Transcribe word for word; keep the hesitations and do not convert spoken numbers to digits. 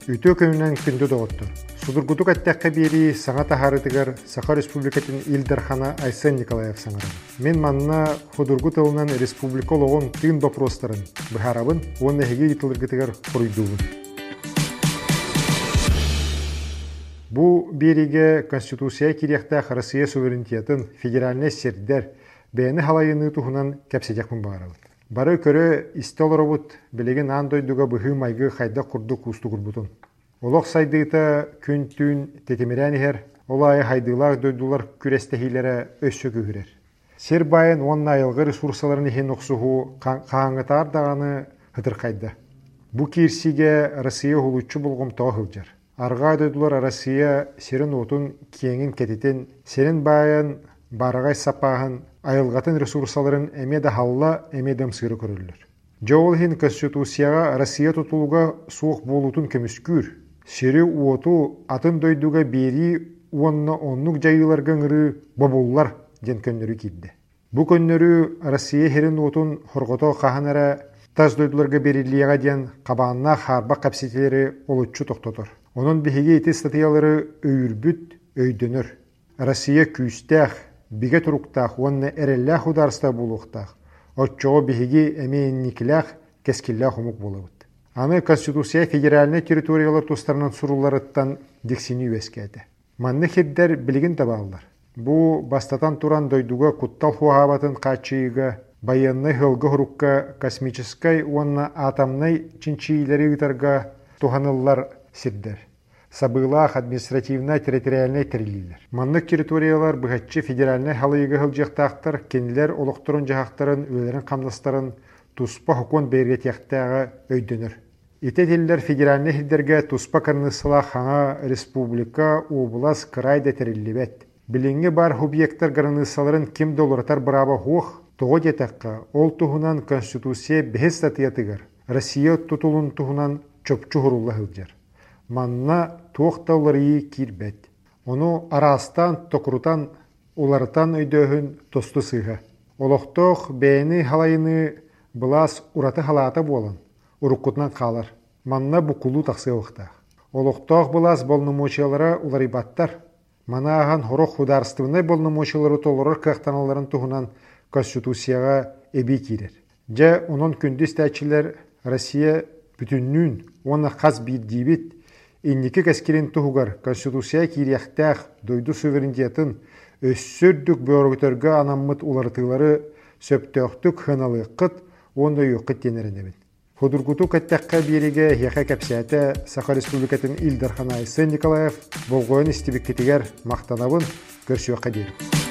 Үтө көмүнөн күндө доғыттыр. Судургутук аттаққа бери саңа тахарытыгар Саха Республикатын Илдархана Айсен Николаев саңаран. Мен манна худургут ылынан республика олоғын тыын вопростарын бұхарабын, оны әхеге етіліргітігер құруйдуын. Бу береге Конституция кирияқтақ Россия суверенитетін федеральный сердер бәйіні халайыны тұхынан кәпседекпін бағарабын. Бары көрі истолоробут білеген андойдуға бұхы майғы қайда құрды құсты құрбутын. Олық сайдыйта күн түн тетемерәнігер, олайы хайдылар дойдулар күрестехилері өссө көгірер. Сер байын онна айылғы ресурсаларын ехен оқсуғу қаңғытар дағаны хытыр қайды. Бұ керсиге Россия хулуччу болғым тоғылжар. Арға дойдулар Россия серін отын кеңін кететен, серін байын барағай сапағын айылғатын ресурсаларын әмеді халла әмедім сыры көрілілер. Жоғылхин Конституцияға Россия тұтылуға суық болутын көміскүр. Сері уоту атын дойдуға бері уонна оннук жайыларға ғыры бабуллар ден көннөрі кейді. Бұ көннөрі Россия херін отын хорғото қағанара таз дойдуларға беріліяға ден қабанына харба қапсетелері олытчу тоқтотыр. Onun bihiге ити статьялары өйірбүт өйдөнөр. Россия күйістәқ, биге тұруқтақ, онны әрелләқ ударыста болуқтақ. Отчоғы биhiге әмейінникіләқ, кәскілләқ ұмық болуыд. Аны Конституция федеральный территориялар тұстарынан сұруларыттан дексини өскәді. Манны хеддер білігін табалылар. Бұ бастатан туран дойдуға куттал хуағабатын қачыйыға, байынны хылғы хұрукка космическай, онна атомнай чинчийлері ұтарға туханылар сирдер. Сабылах административно-территориальный терилилер. Маннык территориялар бұғатчы федеральный халыйығы хылжақтақтар, кенілер олықтырын жағақтарын, өлерін қамластарын туспа хукон бейретияқтағы өйдөнір. Итетелілер федеральный хилдерге туспа карнысыла хана республика, облас, крайда терилибет. Біліңгі бар объекттар гарнысаларын кем долларатар бұрабы хоқ, тоғы детаққа, ол тұхынан Конституция бәхес статиятығыр. Россия тұтылын тұхынан чөпчу хұрулла хылжар. Манна тоқтаулары кирбет. Оны арастан, тоқырутан, оларытан өйдөхін тосты сыға. Олықтоқ бәйіні халайыны бұлас ураты халата болын, ұрыққытынан қалар. Манна бұқылу тақсы оқтақ. Олықтоқ бұлас болнымочалары уларибаттар. Мана аған хорық хударыстығынай болнымочалары толырыр қақтаналарын тұғынан Конституцияға әбей керер. Жа оның күндіс тәчілер Россия бүтіннің оны қаз бір дейбет, Инники кәскерен тұғығар Конституция кирияқтақ дойду суверенитетін өссөрдік бөргітіргі анаммыт улартылары сөптөқтік хыналы қыт, онда үйіққыт денерінебін. Худургуту кәттәққа береге яқа кәпсәті Саха Республикатын Илдархана Айсен Николаев болғойын істебік кетігер мақтанабын көрсі өққа дейін.